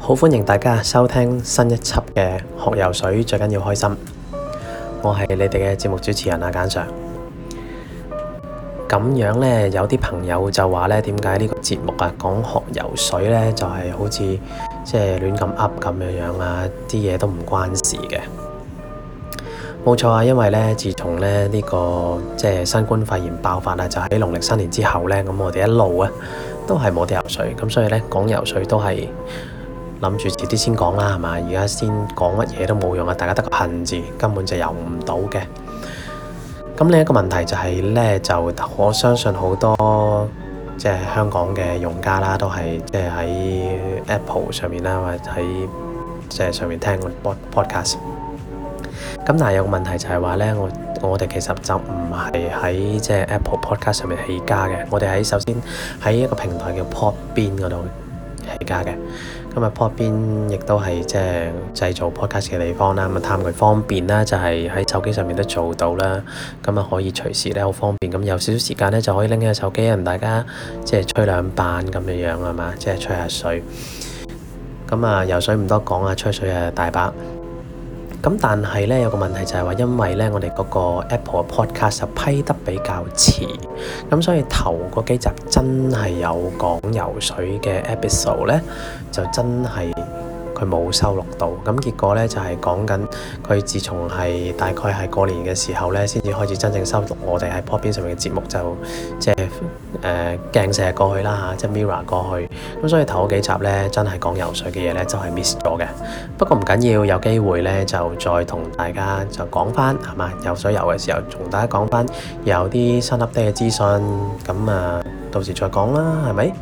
好歡迎大家收聽新一輯嘅學游水，最緊要開心。我係你哋嘅節目主持人阿簡 Sir。咁樣呢，有啲朋友就話呢，點解呢個節目啊講學游水呢，就係好似即係亂咁噏咁樣啊，啲嘢都唔關事嘅。冇錯啊，因為呢，自從呢個即係新冠肺炎爆發啊，就喺農曆新年之後呢，咁我哋一路啊都係冇得游水，咁所以呢，講游水都係諗住遲啲先講啦，係嘛？而家先講乜嘢都冇用啊！大家得個恨字，根本就游唔到嘅。咁另一個問題就係呢，就我相信好多即係香港嘅用家啦，都係即係喺 Apple 上面啦，或者喺即係上面聽個 podcast。咁但係有個問題就係話呢，我哋其實就唔係喺即係 Apple Podcast 上面起家嘅，我哋首先喺一個平台叫 Podbean 嗰度起家嘅。咁啊 Podbean 亦都係即係製造 podcast 嘅地方啦，咁啊貪佢方便啦，就係喺手機上面都做到啦。咁啊可以隨時咧好方便，咁有少少時間咧就可以拎起個手機，同大家即係吹兩板咁樣係嘛，即係吹下水。咁啊游水唔多講啊，吹水啊大把。咁但係咧有個問題就係話，因為咧我哋嗰個 Apple Podcast 就批得比較遲，咁所以頭嗰幾集真係有講游水嘅 episode 咧，就真係佢冇收錄到。咁結果咧就係講緊佢自從係大概係過年嘅時候咧，先至開始真正收錄我哋喺 Podbean 上面嘅節目，就即係鏡射過去啦嚇，即係 mirror 過去。咁所以頭嗰幾集咧真係講游水嘅嘢咧，就係 miss 咗嘅。不過唔緊要，有機會咧就再同大家就講翻係嘛，游水游嘅時候同大家講翻有啲新 update 嘅資訊，咁啊到時再講啦，係咪？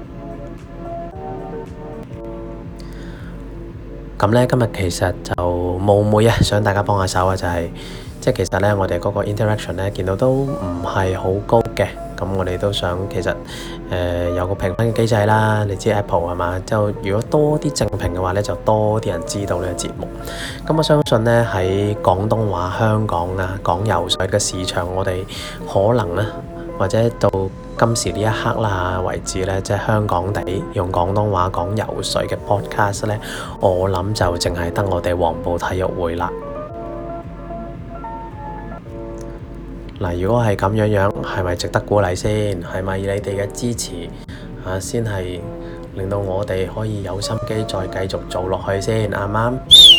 咁咧今日其實就冒昧啊，想大家幫下手啊，就係即係其實咧我哋嗰個 interaction 咧見到都唔係好高嘅，咁我哋都想其實有個評分嘅機制啦。你知 Apple 係嘛？就如果多啲正評嘅話咧，就多啲人知道呢個節目。咁我相信咧喺廣東話香港啊講游水嘅市場，我哋可能咧或者到今時呢一刻啦為止咧，即係香港地用廣東話講游水嘅 podcast 咧，我諗就淨係得我哋黃埔體育會啦。嗱，如果係咁樣，係咪值得鼓勵先？係咪你哋嘅支持先係令到我哋可以有心機再繼續做落去先？啱唔啱？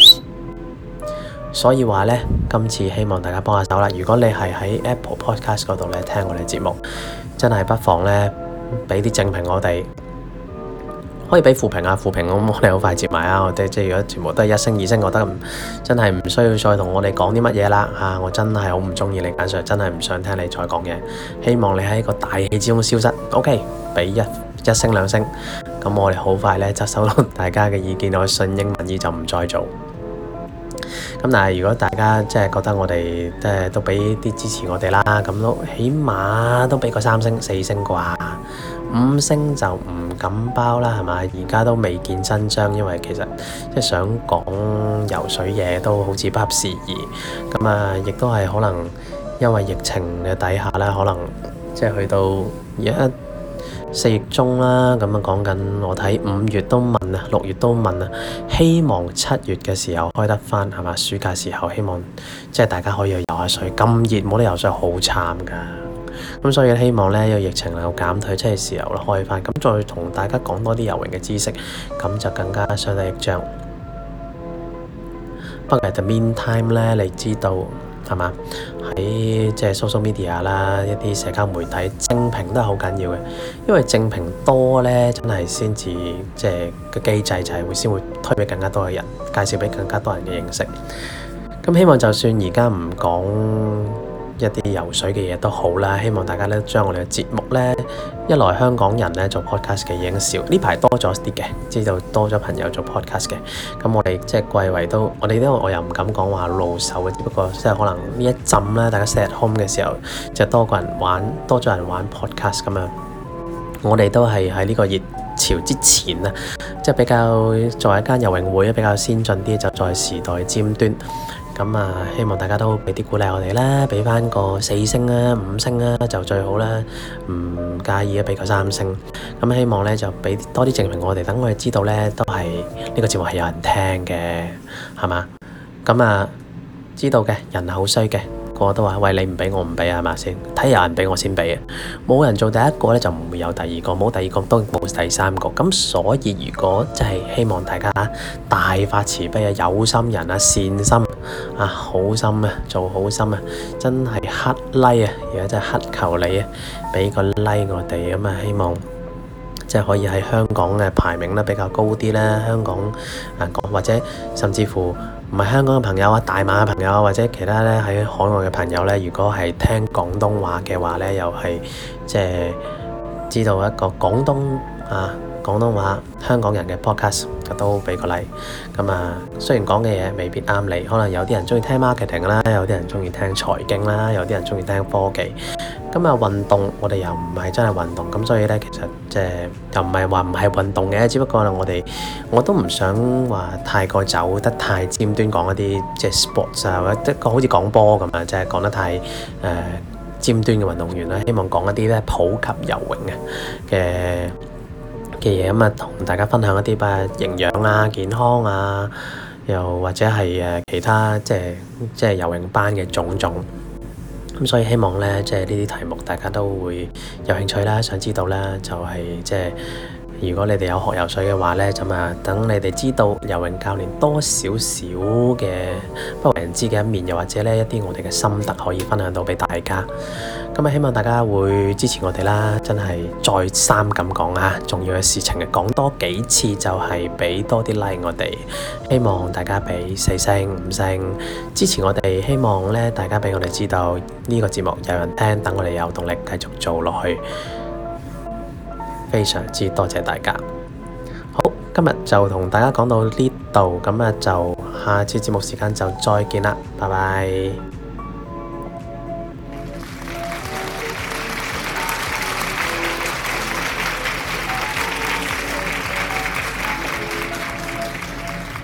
所以話呢，今次希望大家幫下手啦。如果你係喺 Apple Podcast 嗰度咧聽我哋節目，真係不妨呢俾啲正評我哋，可以俾負評啊，負評咁我哋好快接埋啊。我哋即係如果全部都係一星二星，我覺得真係唔需要再同我哋講啲乜嘢啦嚇。我真係好唔中意你簡 Sir，真係唔想聽你再講嘢。希望你喺個大氣之中消失。OK， 俾一星兩星，咁我哋好快呢就收到大家嘅意見，我順應民意就唔再做。咁但係如果大家即係覺得我哋即係都俾啲支持我哋啦，咁都起碼都俾個3星4星啩，5星就唔敢包啦，係嘛？而家都未見真章，因為其實即係想講游水嘢都好似不合時宜，咁啊亦都係可能因為疫情嘅底下咧，可能即係去到而家4月中啦，咁啊講緊我睇5月都問啊，6月都問啊，希望7月嘅時候開得翻係嘛？暑假時候希望即係大家可以去游下水，咁熱冇得游水好慘噶，咁所以希望呢個疫情能夠減退，即係時候啦開翻，咁再同大家講多啲游泳嘅知識，咁就更加相得益彰。不過喺 the meantime 呢，你知道係嘛？喺即係 social media 啦，一啲社交媒體正評都係好緊要嘅，因為正評多咧，真係先至即係個機制就係先會推俾更加多嘅人，介紹俾更加多人嘅認識。咁希望就算而家唔講一啲游水嘅嘢都好啦，希望大家咧將我哋嘅節目咧，一來香港人咧做 podcast 嘅已經少，呢排多咗啲嘅，知道多咗朋友做 podcast 嘅，咁我哋即係貴為都，我哋我又唔敢講話露手嘅，只不過即係可能呢一陣咧，大家 stay at home 嘅時候，就多咗人玩 podcast 咁樣，我哋都係喺呢個熱潮之前啊，即係比較作為一間游泳會比較先進啲，就在時代尖端。 咁希望大家都俾啲鼓勵我哋啦，俾翻個4星啦、5星啦就最好啦，唔介意俾個3星。咁希望咧就俾多啲證明我哋，等我哋知道咧都係呢個節目係有人聽嘅，係嘛？咁知道嘅人好衰嘅。個個都話：喂，你唔俾我唔俾係嘛先？睇有人俾我先俾嘅，冇人做第一個咧就唔會有第二個，冇第二個都冇第三個。咁所以如果真係希望大家大發慈悲啊，有心人啊，善心啊，好心啊，做好心啊，真係乞 like 啊，而家真係乞求你啊，俾個 like 我哋咁希望即係可以喺香港嘅排名咧比較高啲啦。香港或者甚至乎唔係香港嘅朋友啊，大馬嘅朋友或者其他咧喺海外嘅朋友咧，如果係聽廣東話嘅話咧，又係即係知道一個廣東話香港人嘅 podcast 都俾個 like。咁雖然講嘅嘢未必啱你，可能有啲人中意聽 marketing 啦，有啲人中意聽財經啦，有啲人中意聽科技。運動我哋又唔係真係運動，咁所以咧其實即係又唔係話唔係運動嘅，只不過我都唔想話太過走得太尖端，講一啲即係 sports 或者好似講波咁即係講得太尖端嘅運動員啦。希望講一啲咧普及游泳嘅嘢同大家分享一啲營養啊、健康啊，又或者係其他即係游泳班嘅種種。咁所以希望咧，即係呢啲題目大家都會有興趣啦，想知道啦，就係即係如果你哋有學游水嘅話咧，咁等你哋知道游泳教練多少少嘅不為人知嘅一面，又或者咧一啲我哋嘅心得可以分享到俾大家。咁希望大家會支持我哋啦，真係再三咁講重要嘅事情講多幾次就係俾多啲 like 我哋。希望大家俾4星、5星支持我哋，希望咧大家俾我哋知道呢個節目有人聽，等我哋有動力繼續做落去。非常之多謝大家。好，今日就同大家講到呢度，咁就下次節目時間就再見啦，拜拜。